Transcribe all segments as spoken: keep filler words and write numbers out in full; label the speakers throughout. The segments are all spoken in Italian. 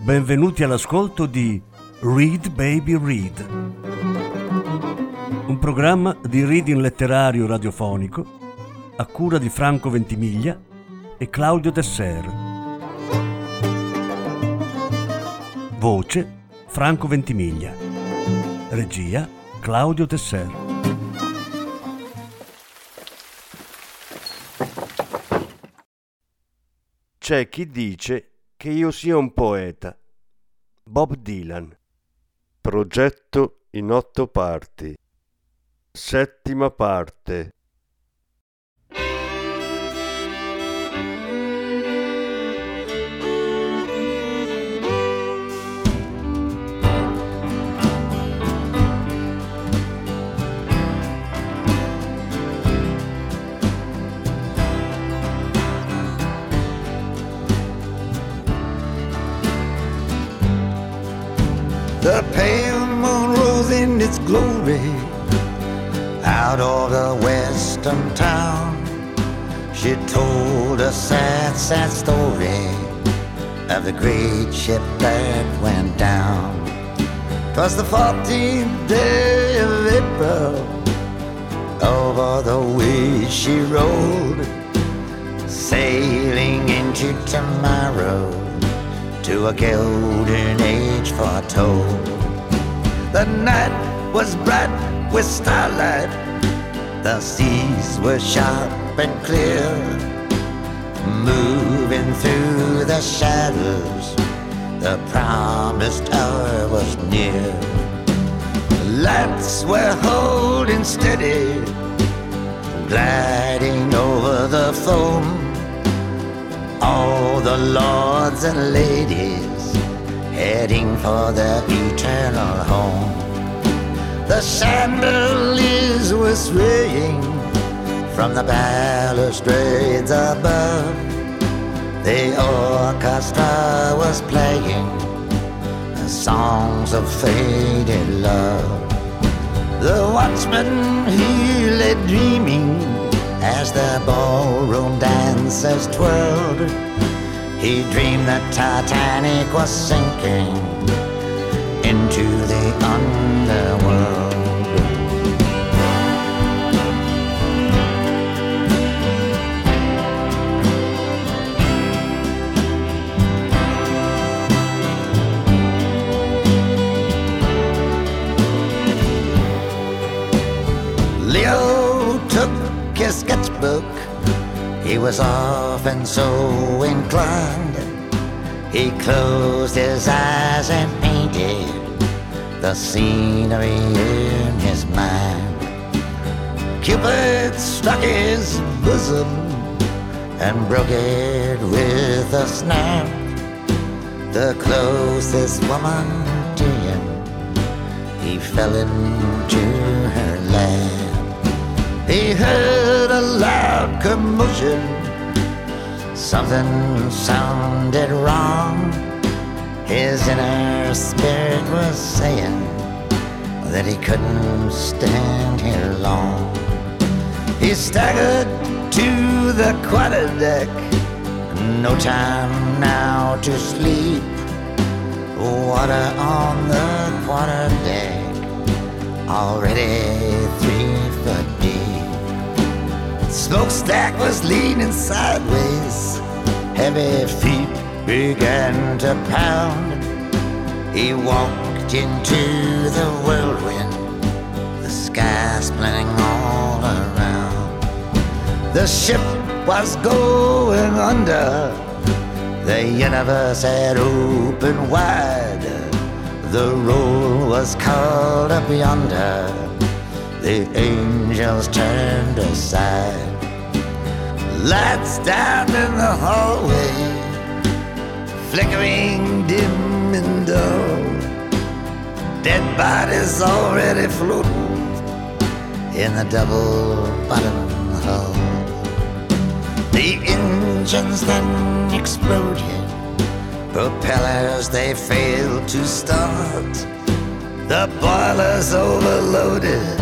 Speaker 1: Benvenuti all'ascolto di Read Baby Read, un programma di reading letterario radiofonico a cura di Franco Ventimiglia e Claudio Desser. Voce Franco Ventimiglia. Regia Claudio Desser.
Speaker 2: C'è chi dice che io sia un poeta. Bob Dylan. Progetto in otto parti. Settima parte.
Speaker 3: The pale moon rose in its glory out of the western town. She told a sad, sad story of the great ship that went down. 'Twas the fourteenth day of April. Over the way she rode, sailing into tomorrow, to a golden age foretold. The night was bright with starlight, the seas were sharp and clear, moving through the shadows, the promised hour was near. The lights were holding steady, gliding over the foam, all the lords and ladies heading for their eternal home. The chandeliers were swaying from the balustrades above. The orchestra was playing the songs of faded love. The watchman, he lay dreaming as the ballroom dancers twirled. He dreamed that Titanic was sinking into the underworld. Leo took his sketchbook, he was often so inclined. He closed his eyes and painted the scenery in his mind. Cupid struck his bosom and broke it with a snap. The closest woman to him, he fell into her lap. He heard a loud commotion, something sounded wrong. His inner spirit was saying that he couldn't stand here long. He staggered to the quarterdeck, no time now to sleep. Water on the quarterdeck, already three foot deep. Smokestack was leaning sideways, heavy feet began to pound. He walked into the whirlwind, the sky splitting all around. The ship was going under, the universe had opened wide. The roll was called up yonder, the angels turned aside. Lights down in the hallway, flickering dim and dull. Dead bodies already floating in the double-bottom hull. The engines then exploded, propellers they failed to start. The boilers overloaded,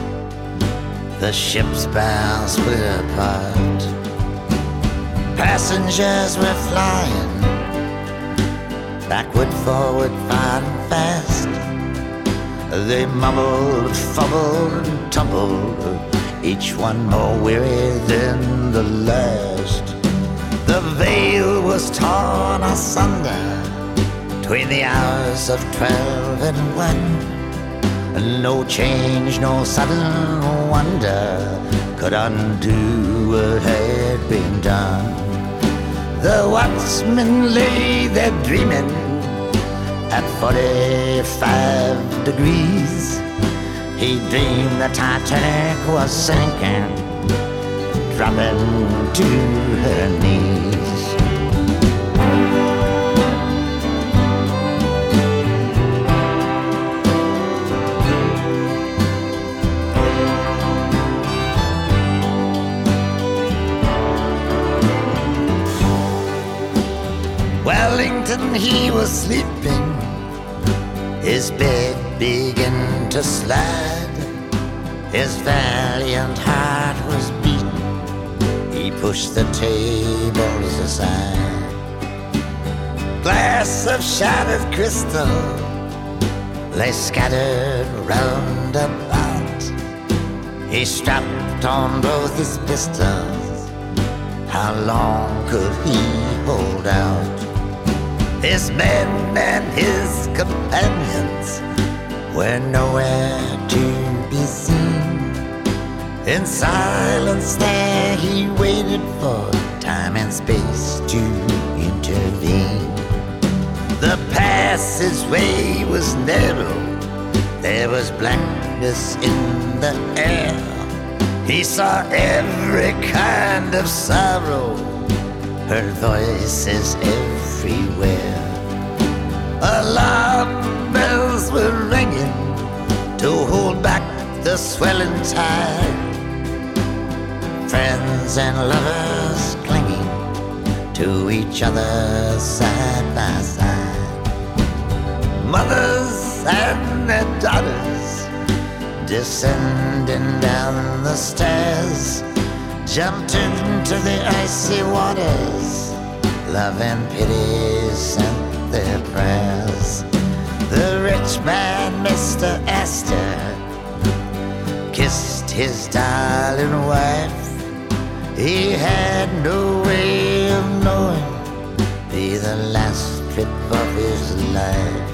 Speaker 3: the ship's bow split apart. Passengers were flying, backward, forward, far and fast. They mumbled, fumbled, and tumbled, each one more weary than the last. The veil was torn asunder between the hours of twelve and one. No change, no sudden wonder could undo what had been done. The watchman lay there dreaming at forty-five degrees. He dreamed the Titanic was sinking, dropping to her knees. Wellington, he was sleeping, his bed began to slide. His valiant heart was beating, he pushed the tables aside. Glass of shattered crystal lay scattered round about. He strapped on both his pistols, how long could he hold out? His men and his companions were nowhere to be seen. In silence there he waited for time and space to intervene. The passageway was narrow, there was blackness in the air. He saw every kind of sorrow, heard voices everywhere. Alarm bells were ringing to hold back the swelling tide. Friends and lovers clinging to each other side by side. Mothers and their daughters descending down the stairs, jumped into the icy waters, love and pity sent their prayers. The rich man, Mister Astor, kissed his darling wife. He had no way of knowing, be the last trip of his life.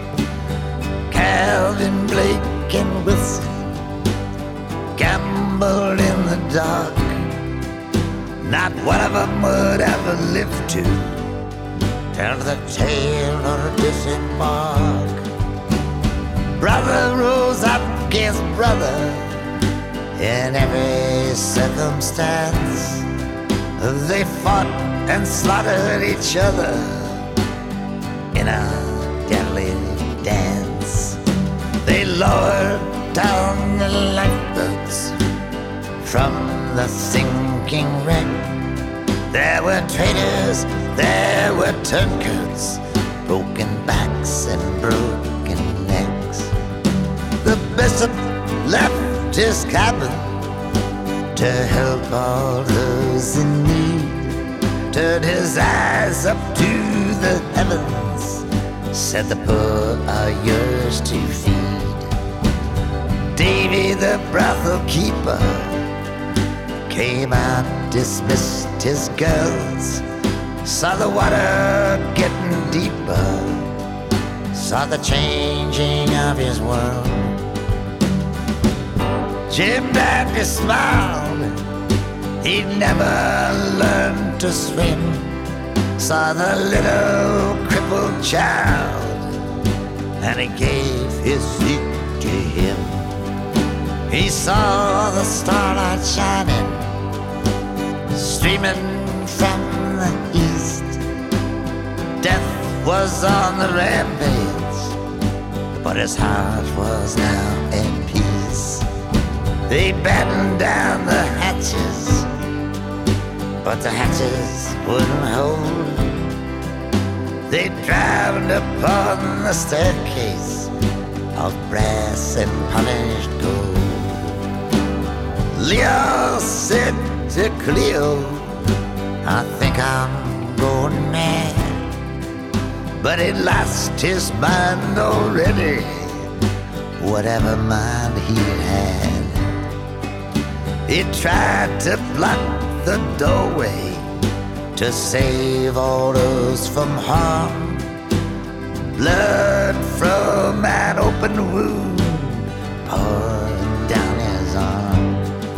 Speaker 3: Calvin, Blake and Wilson gambled in the dark. Not one of them would ever live to tell the tale or disembark. Brother rose up against brother in every circumstance. They fought and slaughtered each other in a deadly dance. They lowered down the lifeboats from the sinking wreck. There were traitors, there were turncoats, broken backs and broken necks. The bishop left his cabin to help all those in need, turned his eyes up to the heavens, said the poor are yours to feed. Davy the brothel keeper came out, dismissed his girls, saw the water getting deeper, saw the changing of his world. Jim Dandy smiled, he'd never learned to swim, saw the little crippled child, and he gave his seat to him. He saw the starlight shining, streaming from the east. Death was on the rampage, but his heart was now in peace. They battened down the hatches, but the hatches wouldn't hold. They drowned upon the staircase of brass and polished gold. Leo said to Cleo, I think I'm going mad. but he'd lost his mind already, whatever mind he had. He tried to block the doorway to save all those from harm. Blood from an open wound poured down his arm.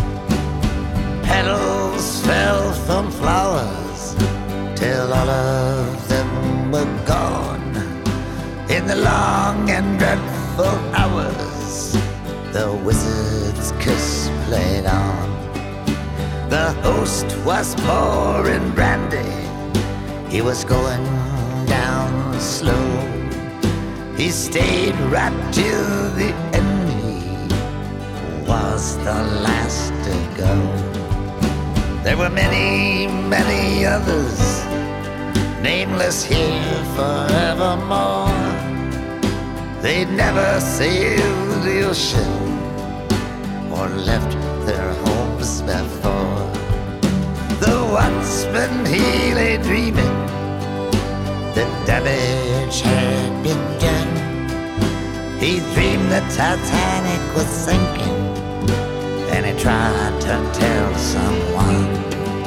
Speaker 3: Petals fell from flowers till all of them were gone. In the long and dreadful hours, the wizard's kiss played on. The host was pouring brandy, he was going down slow. He stayed right till the end, he was the last to go. There were many, many others, nameless here forevermore. They'd never sailed the ocean or left their homes before. The watchman, he lay dreaming, the damage had been done. He dreamed the Titanic was sinking, and he tried to tell someone.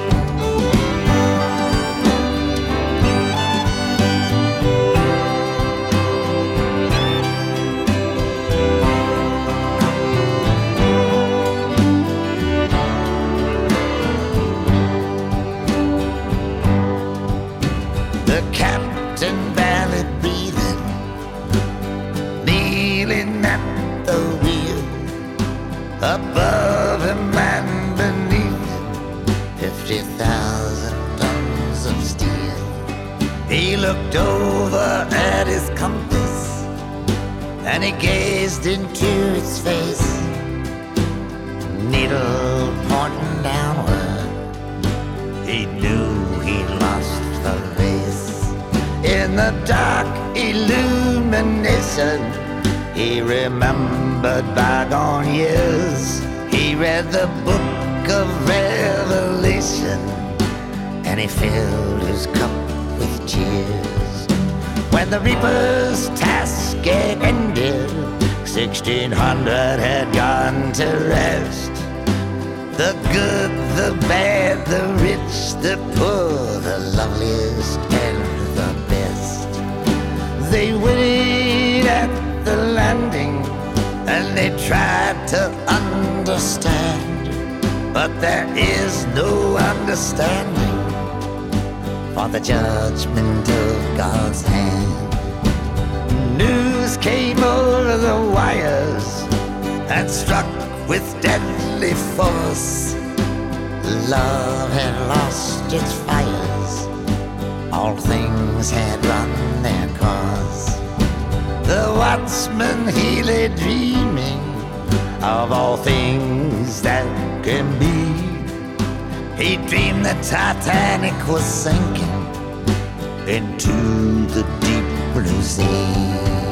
Speaker 3: The captain barely breathing, kneeling at the wheel. Above him and beneath him, fifty thousand tons of steel. He looked over at his compass, and he gazed into its face. Needle pointing downward, he knew he'd lost the race. In the dark illumination, he remembered bygone years. He read the book of Revelation, and he filled his cup with tears. When the Reaper's task had ended, sixteen hundred had gone to rest. The good, the bad, the rich, the poor, the loveliest and the best. They waited at the landing, and they tried to understand, but there is no understanding, for the judgment of God's hand. News came over the wires and struck with deadly force. Love had lost its fires, all things had run their course. The watchman, he lay dreaming of all things that can be. He dreamed the Titanic was sinking into the deep blue sea.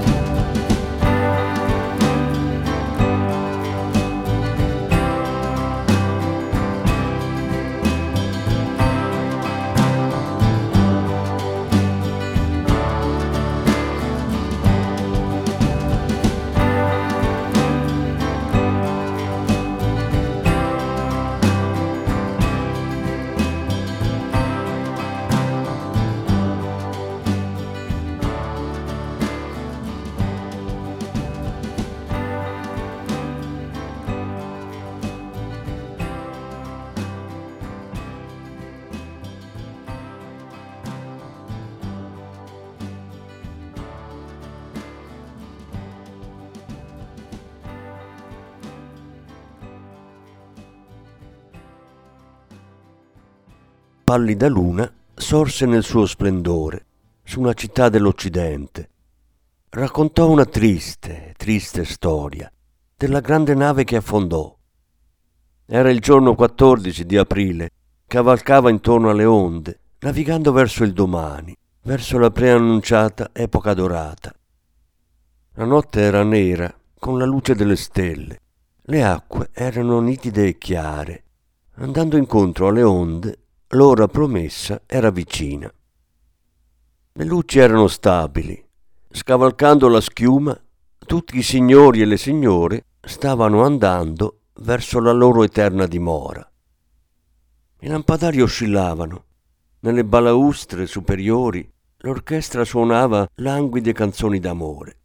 Speaker 1: Pallida luna sorse nel suo splendore su una città dell'Occidente. Raccontò una triste, triste storia della grande nave che affondò. Era il giorno quattordici di aprile, cavalcava intorno alle onde, navigando verso il domani, verso la preannunciata epoca dorata. La notte era nera, con la luce delle stelle. Le acque erano nitide e chiare. Andando incontro alle onde, l'ora promessa era vicina. Le luci erano stabili. Scavalcando la schiuma, tutti i signori e le signore stavano andando verso la loro eterna dimora. I lampadari oscillavano. Nelle balaustre superiori l'orchestra suonava languide canzoni d'amore.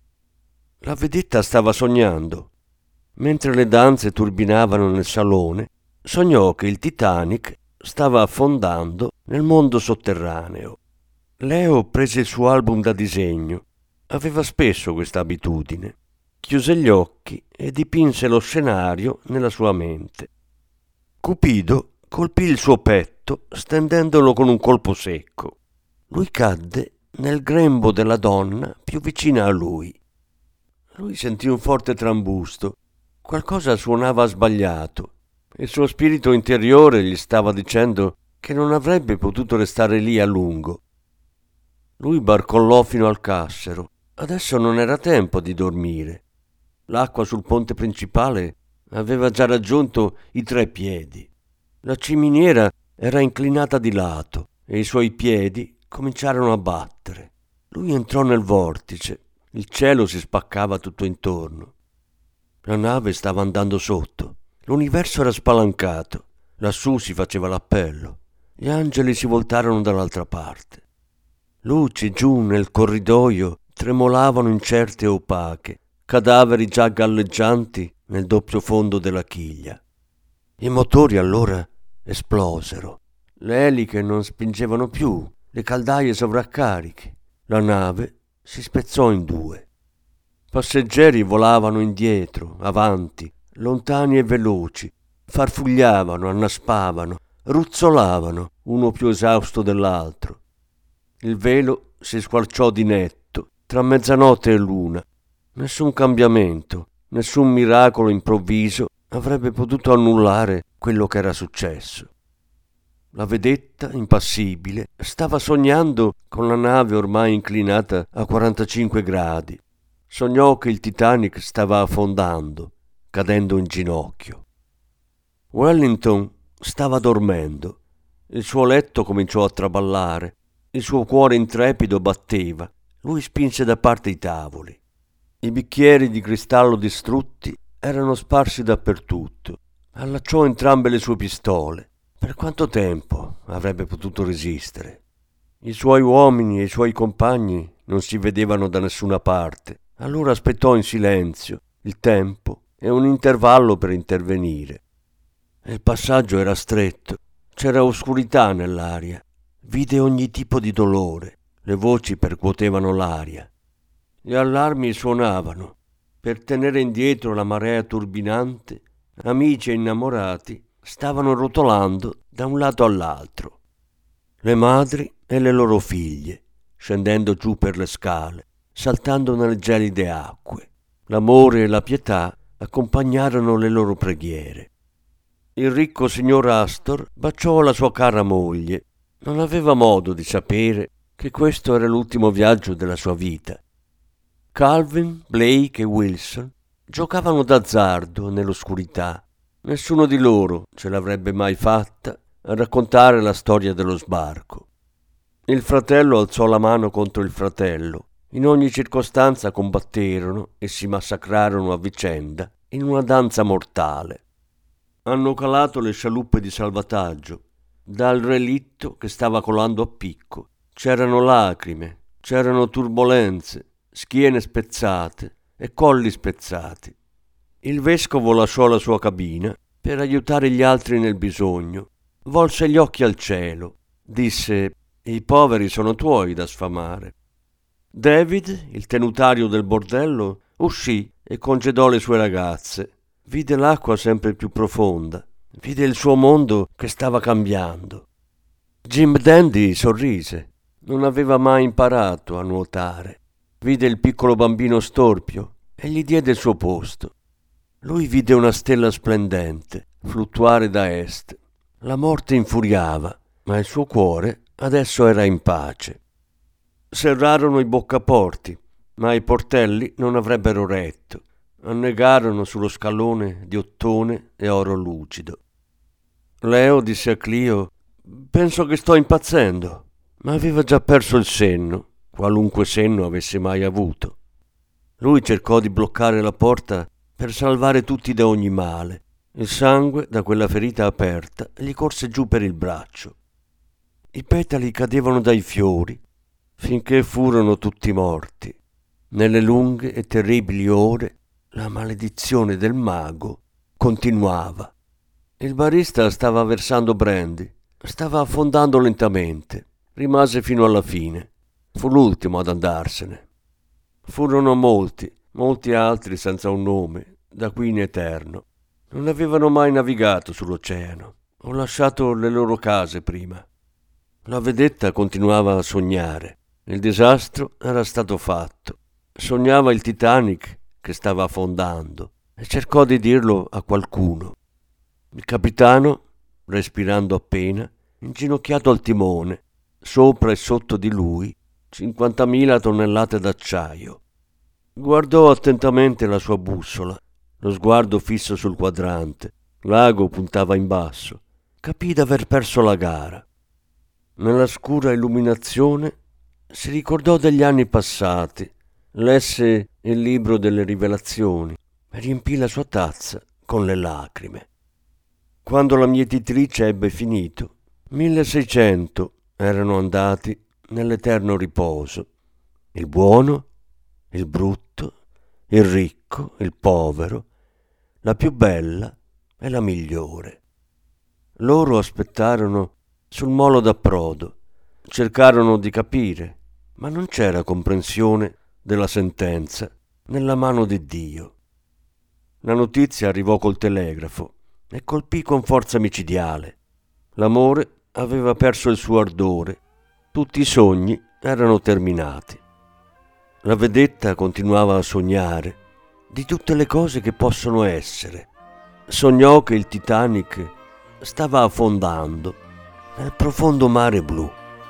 Speaker 1: La vedetta stava sognando. Mentre le danze turbinavano nel salone, sognò che il Titanic stava affondando nel mondo sotterraneo. Leo prese il suo album da disegno. Aveva spesso questa abitudine. Chiuse gli occhi e dipinse lo scenario nella sua mente. Cupido colpì il suo petto stendendolo con un colpo secco. Lui cadde nel grembo della donna più vicina a lui. Lui sentì un forte trambusto. Qualcosa suonava sbagliato. Il suo spirito interiore gli stava dicendo che non avrebbe potuto restare lì a lungo. Lui barcollò fino al cassero. Adesso non era tempo di dormire. L'acqua sul ponte principale aveva già raggiunto i tre piedi. La ciminiera era inclinata di lato e i suoi piedi cominciarono a battere. Lui entrò nel vortice. Il cielo si spaccava tutto intorno. La nave stava andando sotto. L'universo era spalancato. Lassù si faceva l'appello. Gli angeli si voltarono dall'altra parte. Luci giù nel corridoio tremolavano incerte e opache, cadaveri già galleggianti nel doppio fondo della chiglia. I motori allora esplosero. Le eliche non spingevano più, le caldaie sovraccariche. La nave si spezzò in due. Passeggeri volavano indietro, avanti, lontani e veloci, farfugliavano, annaspavano, ruzzolavano, uno più esausto dell'altro. Il velo si squarciò di netto tra mezzanotte e luna. Nessun cambiamento, nessun miracolo improvviso avrebbe potuto annullare quello che era successo. La vedetta, impassibile, stava sognando con la nave ormai inclinata a quarantacinque gradi. Sognò che il Titanic stava affondando, cadendo in ginocchio. Wellington stava dormendo. Il suo letto cominciò a traballare. Il suo cuore intrepido batteva. Lui spinse da parte i tavoli. I bicchieri di cristallo distrutti erano sparsi dappertutto. Allacciò entrambe le sue pistole. Per quanto tempo avrebbe potuto resistere? I suoi uomini e i suoi compagni non si vedevano da nessuna parte. Allora aspettò in silenzio il tempo e un intervallo per intervenire. Il passaggio era stretto. C'era oscurità nell'aria. Vide ogni tipo di dolore. Le voci percuotevano l'aria. Gli allarmi suonavano. Per tenere indietro la marea turbinante, amici e innamorati stavano rotolando da un lato all'altro. Le madri e le loro figlie, scendendo giù per le scale, saltando nelle gelide acque. L'amore e la pietà accompagnarono le loro preghiere. Il ricco signor Astor baciò la sua cara moglie. Non aveva modo di sapere che questo era l'ultimo viaggio della sua vita. Calvin, Blake e Wilson giocavano d'azzardo nell'oscurità. Nessuno di loro ce l'avrebbe mai fatta a raccontare la storia dello sbarco. Il fratello alzò la mano contro il fratello. In ogni circostanza combatterono e si massacrarono a vicenda in una danza mortale. Hanno calato le scialuppe di salvataggio. Dal relitto che stava colando a picco c'erano lacrime, c'erano turbolenze, schiene spezzate e colli spezzati. Il vescovo lasciò la sua cabina per aiutare gli altri nel bisogno. Volse gli occhi al cielo. Disse: «I poveri sono tuoi da sfamare». David, il tenutario del bordello, uscì e congedò le sue ragazze. Vide l'acqua sempre più profonda. Vide il suo mondo che stava cambiando. Jim Dandy sorrise. Non aveva mai imparato a nuotare. Vide il piccolo bambino storpio e gli diede il suo posto. Lui vide una stella splendente fluttuare da est. La morte infuriava, ma il suo cuore adesso era in pace. Serrarono i boccaporti, ma i portelli non avrebbero retto. Annegarono sullo scalone di ottone e oro lucido. Leo disse a Clio: «Penso che sto impazzendo. ma aveva già perso il senno, qualunque senno avesse mai avuto. Lui cercò di bloccare la porta per salvare tutti da ogni male. Il sangue da quella ferita aperta gli corse giù per il braccio. I petali cadevano dai fiori finché furono tutti morti. Nelle lunghe e terribili ore la maledizione del mago continuava. Il barista stava versando brandy, stava affondando lentamente. Rimase fino alla fine. Fu l'ultimo ad andarsene. Furono molti, molti altri senza un nome, da qui in eterno. Non avevano mai navigato sull'oceano. Ho lasciato le loro case prima. La vedetta continuava a sognare. Il disastro era stato fatto. Sognava il Titanic che stava affondando e cercò di dirlo a qualcuno. Il capitano, respirando appena, inginocchiato al timone, sopra e sotto di lui cinquantamila tonnellate d'acciaio. Guardò attentamente la sua bussola, lo sguardo fisso sul quadrante. L'ago puntava in basso. Capì d'aver perso la gara. Nella scura illuminazione si ricordò degli anni passati, lesse il libro delle rivelazioni e riempì la sua tazza con le lacrime. Quando la mietitrice ebbe finito, milleseicento erano andati nell'eterno riposo. Il buono, il brutto, il ricco, il povero, la più bella e la migliore. Loro aspettarono sul molo d'approdo, cercarono di capire, ma non c'era comprensione della sentenza nella mano di Dio. La notizia arrivò col telegrafo e colpì con forza micidiale. L'amore aveva perso il suo ardore, tutti i sogni erano terminati. La vedetta continuava a sognare di tutte le cose che possono essere. Sognò che il Titanic stava affondando nel profondo mare blu.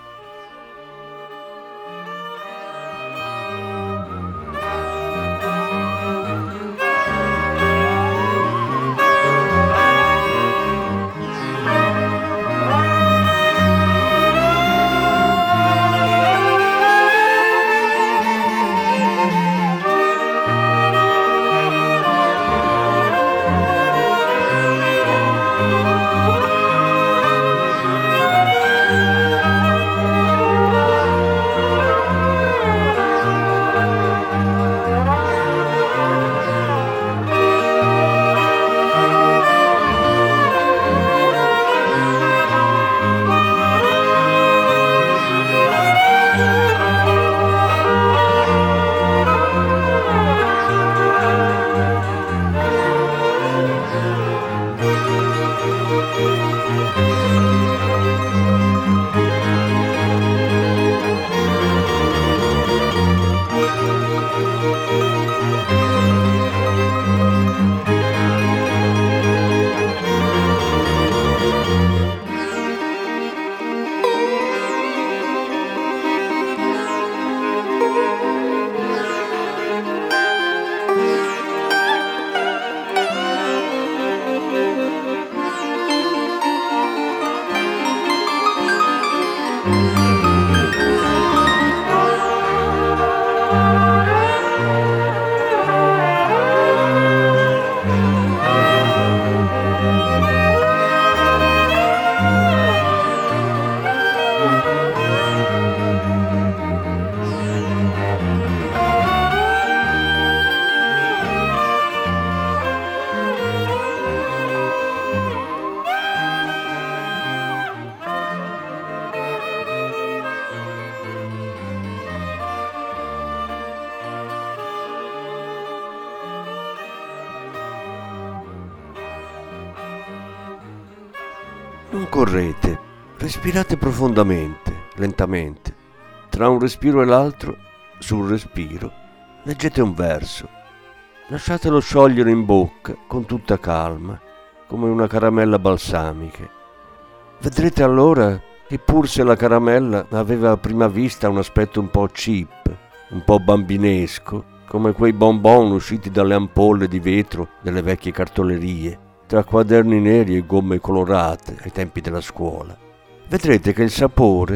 Speaker 1: Non correte, respirate profondamente, lentamente. Tra un respiro e l'altro, sul respiro, leggete un verso. Lasciatelo sciogliere in bocca con tutta calma, come una caramella balsamica. Vedrete allora che pur se la caramella aveva a prima vista un aspetto un po' cheap, un po' bambinesco, come quei bonbon usciti dalle ampolle di vetro delle vecchie cartolerie, tra quaderni neri e gomme colorate ai tempi della scuola. Vedrete che il sapore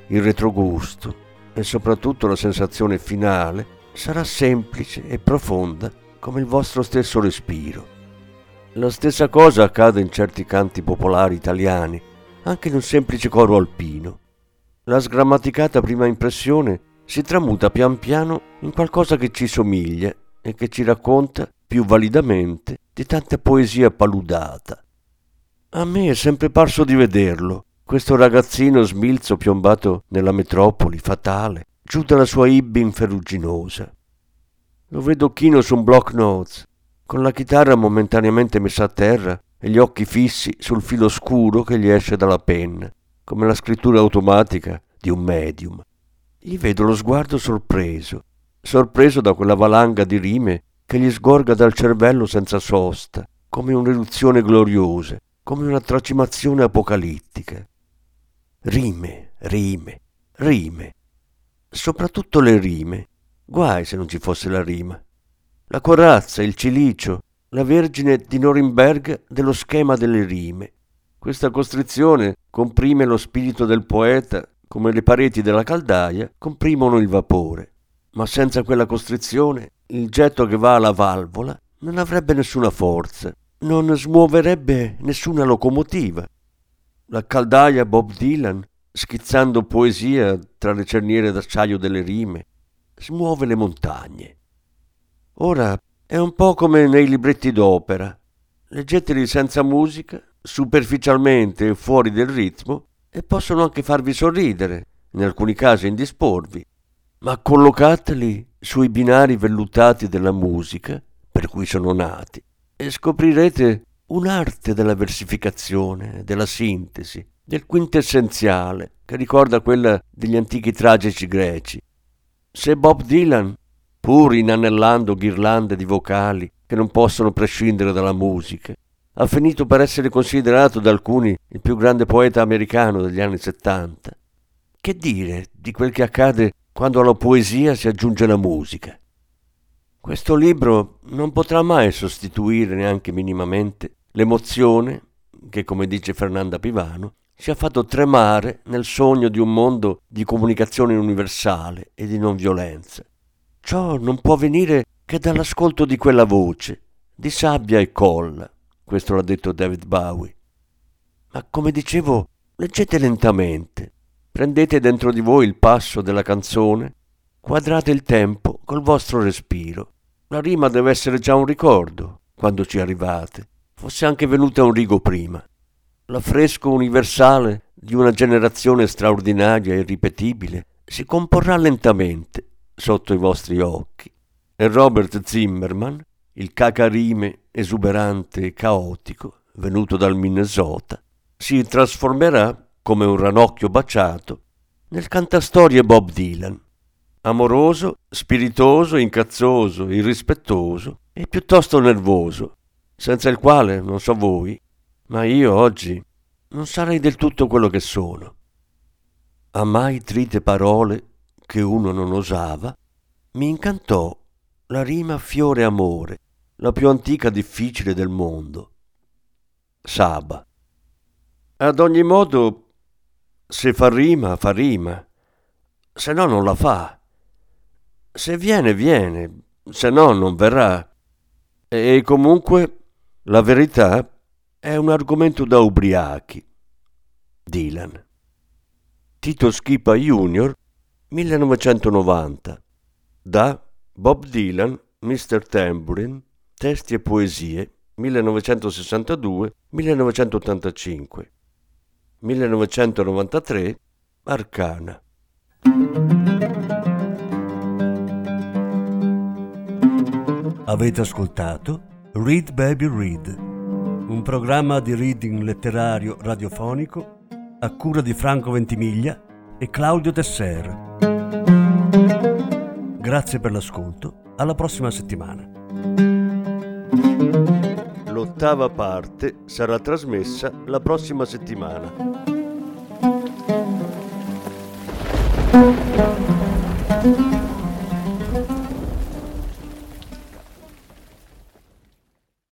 Speaker 1: il retrogusto e soprattutto la sensazione finale sarà semplice e profonda come il vostro stesso respiro. La stessa cosa accade in certi canti popolari italiani, anche in un semplice coro alpino. La sgrammaticata prima impressione si tramuta pian piano in qualcosa che ci somiglia e che ci racconta più validamente di tanta poesia paludata. A me è sempre parso di vederlo, questo ragazzino smilzo piombato nella metropoli fatale, giù dalla sua Ibbin ferruginosa. Lo vedo chino su un block notes, con la chitarra momentaneamente messa a terra e gli occhi fissi sul filo scuro che gli esce dalla penna, come la scrittura automatica di un medium. Gli vedo lo sguardo sorpreso, sorpreso da quella valanga di rime che gli sgorga dal cervello senza sosta, come un'eruzione gloriosa, come una tracimazione apocalittica. Rime, rime, rime. Soprattutto le rime. Guai se non ci fosse la rima. La corazza, il cilicio, la Vergine di Norimberga dello schema delle rime. Questa costrizione comprime lo spirito del poeta come le pareti della caldaia comprimono il vapore. Ma senza quella costrizione il getto che va alla valvola non avrebbe nessuna forza, non smuoverebbe nessuna locomotiva. La caldaia Bob Dylan, schizzando poesia tra le cerniere d'acciaio delle rime, smuove le montagne. Ora è un po' come nei libretti d'opera. Leggeteli senza musica, superficialmente e fuori del ritmo, e possono anche farvi sorridere, in alcuni casi indisporvi, ma collocateli sui binari vellutati della musica, per cui sono nati, e scoprirete un'arte della versificazione, della sintesi, del quintessenziale, che ricorda quella degli antichi tragici greci. Se Bob Dylan, pur inanellando ghirlande di vocali che non possono prescindere dalla musica, ha finito per essere considerato da alcuni il più grande poeta americano degli anni settanta, che dire di quel che accade quando alla poesia si aggiunge la musica? Questo libro non potrà mai sostituire neanche minimamente l'emozione che, come dice Fernanda Pivano, ci ha fatto tremare nel sogno di un mondo di comunicazione universale e di non violenza. Ciò non può venire che dall'ascolto di quella voce, di sabbia e colla. Questo l'ha detto David Bowie. Ma come dicevo, leggete lentamente, prendete dentro di voi il passo della canzone, quadrate il tempo col vostro respiro. La rima deve essere già un ricordo quando ci arrivate, fosse anche venuta un rigo prima. L'affresco universale di una generazione straordinaria e irripetibile si comporrà lentamente sotto i vostri occhi. E Robert Zimmerman, il cacarime esuberante e caotico, venuto dal Minnesota, si trasformerà, come un ranocchio baciato, nel cantastorie Bob Dylan, amoroso, spiritoso, incazzoso, irrispettoso e piuttosto nervoso, senza il quale, non so voi, ma io oggi non sarei del tutto quello che sono. A mai trite parole che uno non osava, mi incantò la rima fiore amore, la più antica difficile del mondo. Saba. Ad ogni modo, se fa rima, fa rima, se no non la fa. Se viene, viene, se no non verrà. E comunque la verità è un argomento da ubriachi. Dylan. Tito Schipa junior, millenovecentonovanta. Da Bob Dylan, mister Tambourine, testi e poesie, millenovecentosessantadue millenovecentottantacinque. millenovecentonovantatré, Arcana. Avete ascoltato Read Baby Read, un programma di reading letterario radiofonico a cura di Franco Ventimiglia e Claudio Tesser. Grazie per l'ascolto, alla prossima settimana. L'ottava parte sarà trasmessa la prossima settimana.